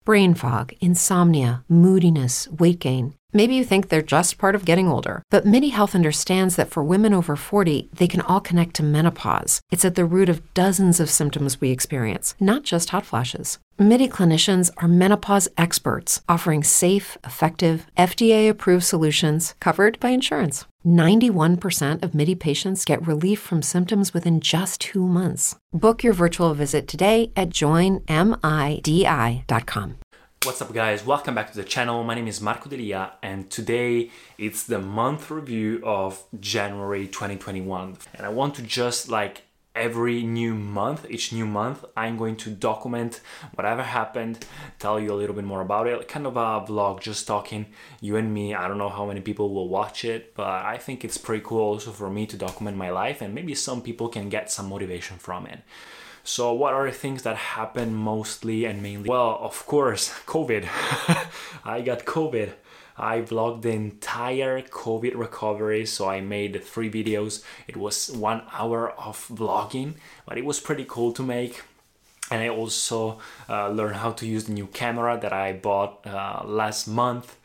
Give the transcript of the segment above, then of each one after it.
brain fog, insomnia, moodiness, weight gain. Maybe you think they're just part of getting older, but MIDI Health understands that for women over 40, they can all connect to menopause. It's at the root of dozens of symptoms we experience, not just hot flashes. MIDI clinicians are menopause experts, offering safe, effective, FDA-approved solutions covered by insurance. 91% of MIDI patients get relief from symptoms within just 2 months. Book your virtual visit today at joinmidi.com. What's up guys, welcome back to the channel. My name is Marco Delia and today it's the month review of January 2021 and I want to just like every new month, each new month, I'm going to document whatever happened, tell you a little bit more about it, kind of a vlog, just talking, you and me. I don't know how many people will watch it, but I think it's pretty cool also for me to document my life and maybe some people can get some motivation from it. So what are the things that happen mostly and mainly? Well, of course, COVID. I got COVID. I vlogged the entire COVID recovery, so I made 3 videos. It was 1 hour of vlogging, but it was pretty cool to make. And I also learned how to use the new camera that I bought last month.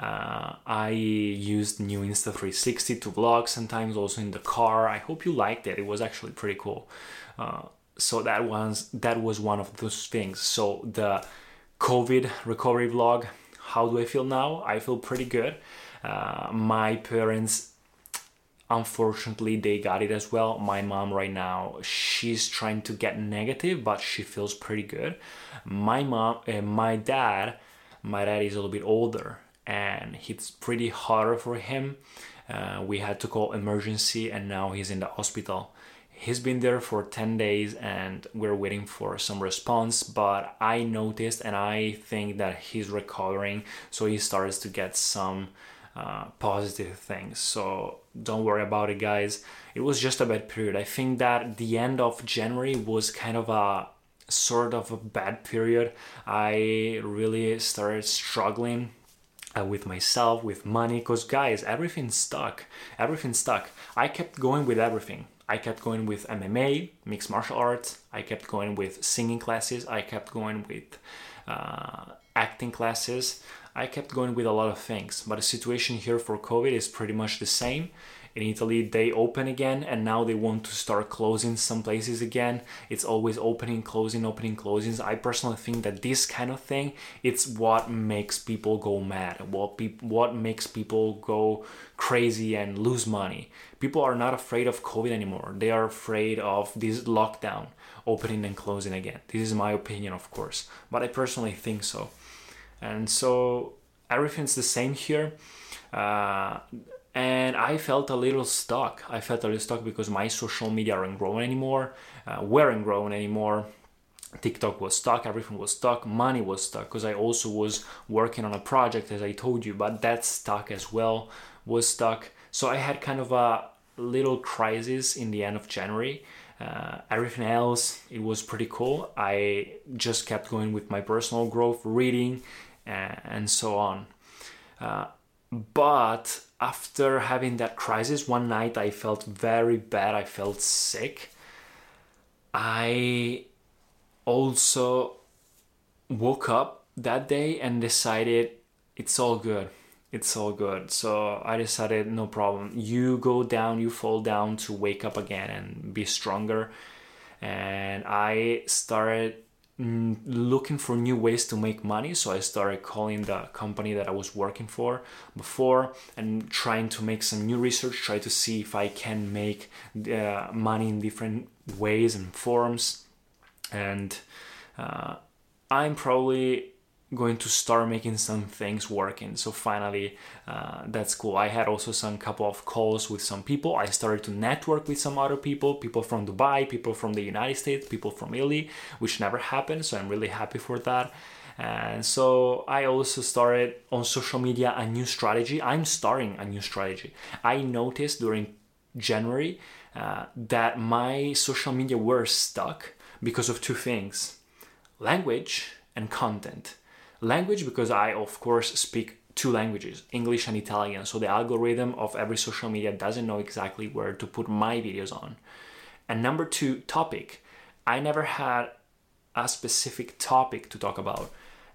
I used new Insta360 to vlog sometimes, also in the car. I hope you liked it. It was actually pretty cool. So that was one of those things. So the COVID recovery vlog, how do I feel now? I feel pretty good. My parents, unfortunately, they got it as well. My mom right now, she's trying to get negative, but she feels pretty good. My dad is a little bit older and it's pretty hard for him. We had to call emergency and now he's in the hospital. He's been there for 10 days and we're waiting for some response, but I noticed and I think that he's recovering, so he starts to get some positive things. So don't worry about it, guys. It was just a bad period. I think that the end of January was kind of a sort of a bad period. I really started struggling with myself, with money, because guys, everything's stuck. I kept going with everything. I kept going with MMA, mixed martial arts. I kept going with singing classes. I kept going with acting classes. I kept going with a lot of things. But the situation here for COVID is pretty much the same. In Italy, they open again and now they want to start closing some places again. It's always opening, closing, opening, closings. I personally think that this kind of thing, it's what makes people go mad, what makes people go crazy and lose money. People are not afraid of COVID anymore. They are afraid of this lockdown, opening and closing again. This is my opinion, of course, but I personally think so. And so everything's the same here. And I felt a little stuck. Because my social media weren't growing anymore. TikTok was stuck, everything was stuck, money was stuck, because I also was working on a project, as I told you, but that stuck as well, was stuck. So I had kind of a little crisis in the end of January. Everything else, it was pretty cool. I just kept going with my personal growth, reading, and so on. But after having that crisis, one night I felt very bad. I felt sick. I also woke up that day and decided it's all good. So I decided, no problem. You go down, you fall down to wake up again and be stronger. And I started looking for new ways to make money. So I started calling the company that I was working for before and trying to make some new research, try to see if I can make money in different ways and forms. And I'm probably going to start making some things working. So finally, that's cool. I had also some couple of calls with some people. I started to network with some other people from Dubai, people from the United States, people from Italy, which never happened. So I'm really happy for that. And so I also started on social media a new strategy. I'm starting a new strategy. I noticed during January that my social media were stuck because of 2 things: language and content. Language, because I, of course, speak 2 languages, English and Italian. So the algorithm of every social media doesn't know exactly where to put my videos on. And number 2, topic. I never had a specific topic to talk about.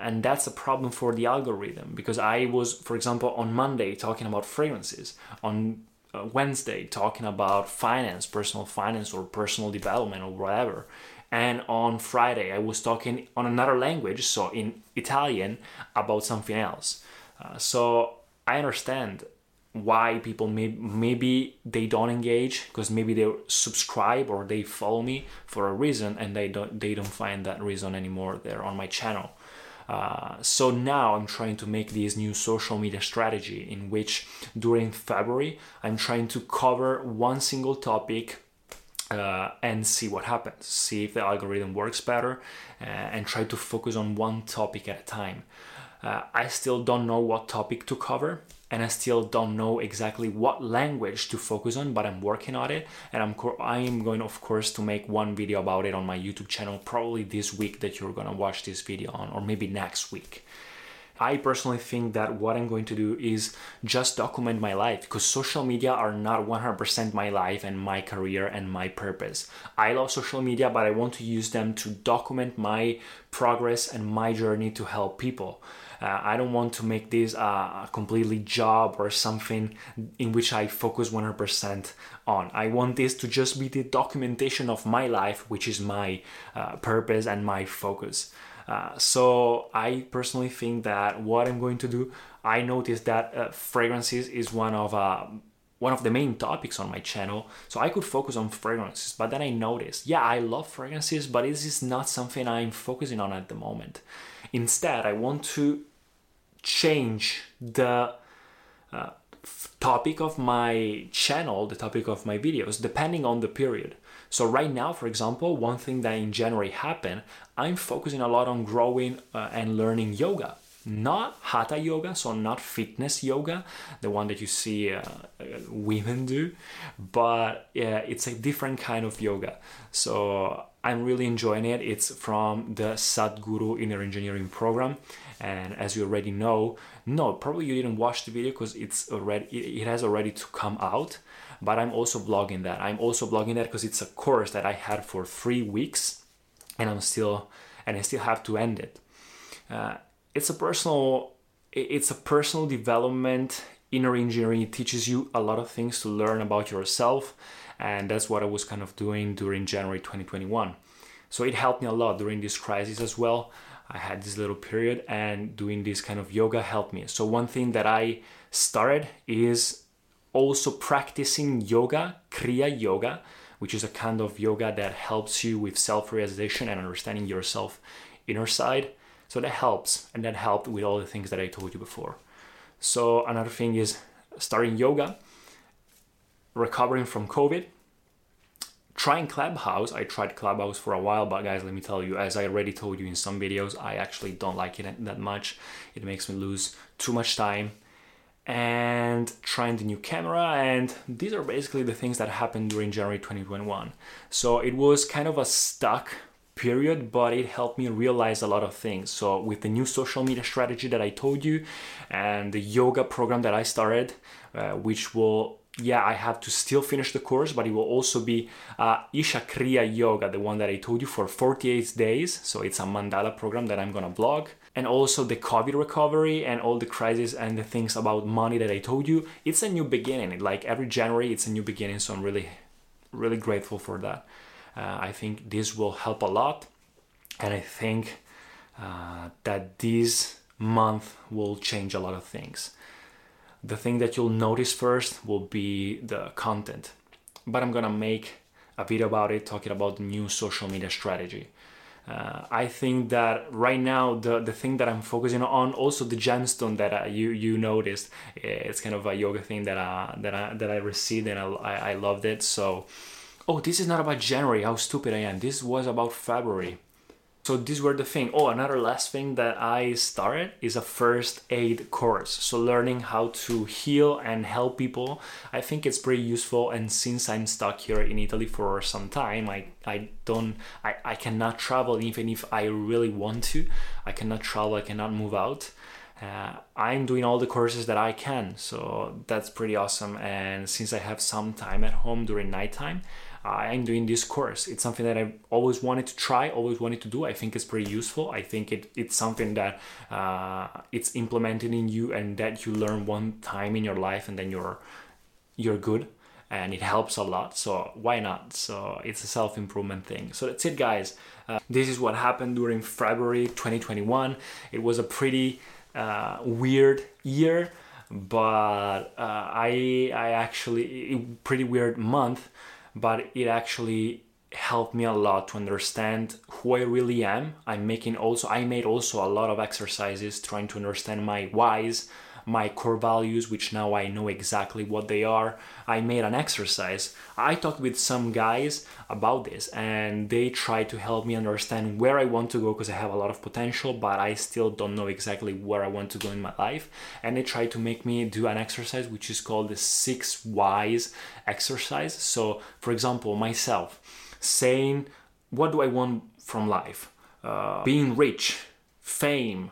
and that's a problem for the algorithm, because I was, for example, on Monday talking about fragrances, on Wednesday talking about finance, personal finance or personal development or whatever, and on Friday I was talking on another language, so in Italian, about something else. So I understand why people maybe they don't engage, because maybe they subscribe or they follow me for a reason, and they don't find that reason anymore there on my channel. So now I'm trying to make this new social media strategy in which during February I'm trying to cover one single topic and see what happens, see if the algorithm works better, and try to focus on one topic at a time. I still don't know what topic to cover, and I still don't know exactly what language to focus on, but I'm working on it, and I am going, of course, to make one video about it on my YouTube channel, probably this week that you're gonna watch this video on, or maybe next week. I personally think that what I'm going to do is just document my life, because social media are not 100% my life and my career and my purpose. I love social media, but I want to use them to document my progress and my journey to help people. I don't want to make this a completely job or something in which I focus 100% on. I want this to just be the documentation of my life, which is my purpose and my focus. So I personally think that what I'm going to do, I noticed that fragrances is one of the main topics on my channel, so I could focus on fragrances. But then I noticed, I love fragrances, but this is not something I'm focusing on at the moment. Instead, I want to change the topic of my channel, the topic of my videos, depending on the period. So right now, for example, one thing that in January happened, I'm focusing a lot on growing and learning yoga. Not hatha yoga, so not fitness yoga, the one that you see women do, but it's a different kind of yoga. So I'm really enjoying it. It's from the Sadhguru Inner Engineering program. And as you already know, probably you didn't watch the video because it has already to come out. But I'm also vlogging that. Because it's a course that I had for 3 weeks, and I still have to end it. It's a personal development. Inner engineering, it teaches you a lot of things to learn about yourself, and that's what I was kind of doing during January 2021. So it helped me a lot during this crisis as well. I had this little period, and doing this kind of yoga helped me. So one thing that I started is also practicing yoga, Kriya Yoga, which is a kind of yoga that helps you with self-realization and understanding yourself inner side. So that helps, and that helped with all the things that I told you before. So another thing is starting yoga, recovering from COVID, trying Clubhouse. I tried Clubhouse for a while, but guys, let me tell you, as I already told you in some videos, I actually don't like it that much. It makes me lose too much time. And trying the new camera, and these are basically the things that happened during January 2021. So it was kind of a stuck period, but it helped me realize a lot of things. So with the new social media strategy that I told you, and the yoga program that I started, which will, I have to still finish the course, but it will also be Isha Kriya Yoga, the one that I told you, for 48 days. So it's a mandala program that I'm gonna vlog. And also the COVID recovery and all the crisis and the things about money that I told you. It's a new beginning. Like every January, it's a new beginning. So I'm really, really grateful for that. I think this will help a lot. And I think that this month will change a lot of things. The thing that you'll notice first will be the content. But I'm gonna make a video about it, talking about the new social media strategy. I think that right now the thing that I'm focusing on, also the gemstone that you noticed, it's kind of a yoga thing that I received, and I loved it. So, this is not about January. How stupid I am. This was about February. So these were the thing. Another last thing that I started is a first aid course. So learning how to heal and help people. I think it's pretty useful. And since I'm stuck here in Italy for some time, I cannot travel even if I really want to. I cannot travel, I cannot move out. I'm doing all the courses that I can. So that's pretty awesome. And since I have some time at home during nighttime, I'm doing this course. It's something that I've always wanted to try, always wanted to do. I think it's pretty useful. I think it's something that it's implemented in you and that you learn one time in your life and then you're good. And it helps a lot, so why not? So it's a self-improvement thing. So that's it, guys. This is what happened during February 2021. It was a pretty weird year, but pretty weird month, but it actually helped me a lot to understand who I really am. I made also a lot of exercises trying to understand my whys, my core values, which now I know exactly what they are. I made an exercise. I talked with some guys about this and they tried to help me understand where I want to go, because I have a lot of potential, but I still don't know exactly where I want to go in my life. And they tried to make me do an exercise which is called the 6 whys exercise. So for example, myself saying, what do I want from life? Being rich, fame,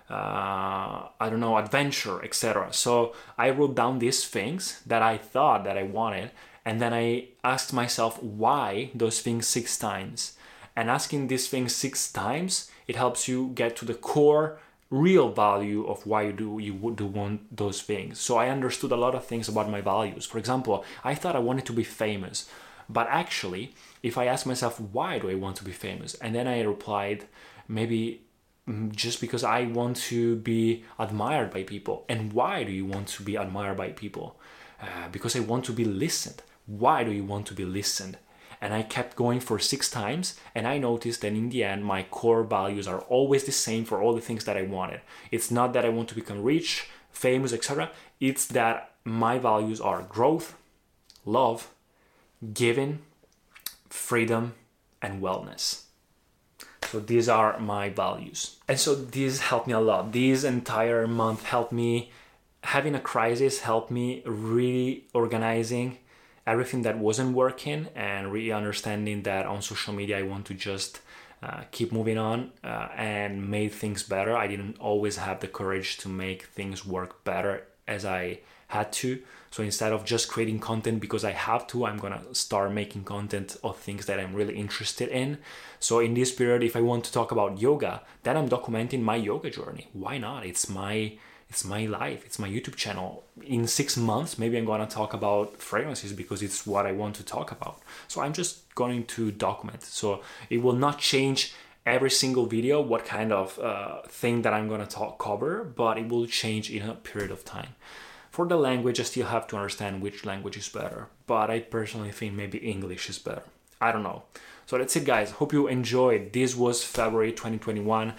adventure, etc. So I wrote down these things that I thought that I wanted, and then I asked myself why those things 6 times. And asking these things 6 times, it helps you get to the core real value of why you would want those things. So I understood a lot of things about my values. For example, I thought I wanted to be famous, but actually, if I ask myself, why do I want to be famous? And then I replied, maybe just because I want to be admired by people. And why do you want to be admired by people? Because I want to be listened. Why do you want to be listened? And I kept going for 6 times, and I noticed that in the end, my core values are always the same for all the things that I wanted. It's not that I want to become rich, famous, etc. It's that my values are growth, love, giving, freedom, and wellness. So these are my values. And so these helped me a lot. This entire month helped me, having a crisis helped me really organizing everything that wasn't working and really understanding that on social media I want to just keep moving on and make things better. I didn't always have the courage to make things work better as I had to. So instead of just creating content because I have to, I'm gonna start making content of things that I'm really interested in. So in this period, if I want to talk about yoga, then I'm documenting my yoga journey. Why not? It's my life. It's my YouTube channel. In 6 months, maybe I'm gonna talk about fragrances because it's what I want to talk about. So I'm just going to document. So it will not change every single video what kind of thing that I'm gonna cover, but it will change in a period of time. For the language, I still have to understand which language is better, but I personally think maybe English is better. I don't know. So that's it, guys. Hope you enjoyed. This was February 2021.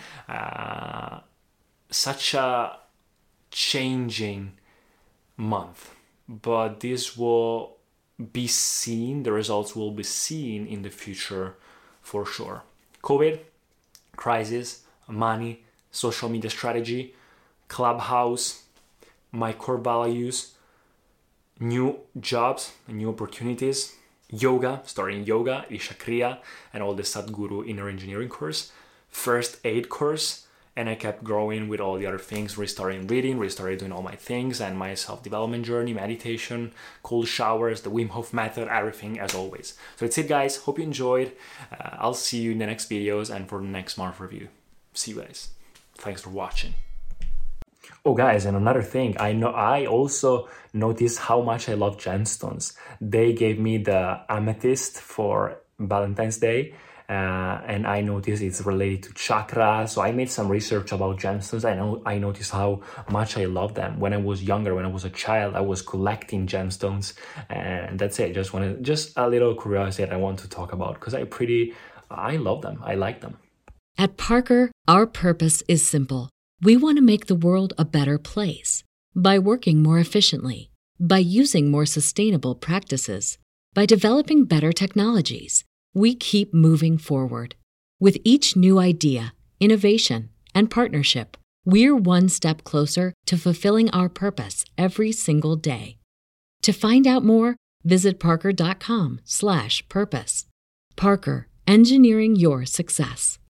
Such a changing month, but this will be seen, the results will be seen in the future for sure. COVID, crisis, money, social media strategy, Clubhouse, my core values, new jobs and new opportunities, yoga, starting yoga, Isha Kriya, and all the Sadhguru inner engineering course, first aid course, and I kept growing with all the other things, restarting reading, restarted doing all my things, and my self-development journey, meditation, cold showers, the Wim Hof method, everything as always. So that's it, guys. Hope you enjoyed. I'll see you in the next videos and for the next month review. See you guys. Thanks for watching. Oh guys, and another thing, I also noticed how much I love gemstones. They gave me the amethyst for Valentine's Day, and I noticed it's related to chakra. So I made some research about gemstones. I noticed how much I love them. When I was younger, when I was a child, I was collecting gemstones, and that's it. Just a little curiosity that I want to talk about because I love them. I like them. At Parker, our purpose is simple. We want to make the world a better place by working more efficiently, by using more sustainable practices, by developing better technologies. We keep moving forward. With each new idea, innovation, and partnership, we're one step closer to fulfilling our purpose every single day. To find out more, visit parker.com/purpose. Parker, engineering your success.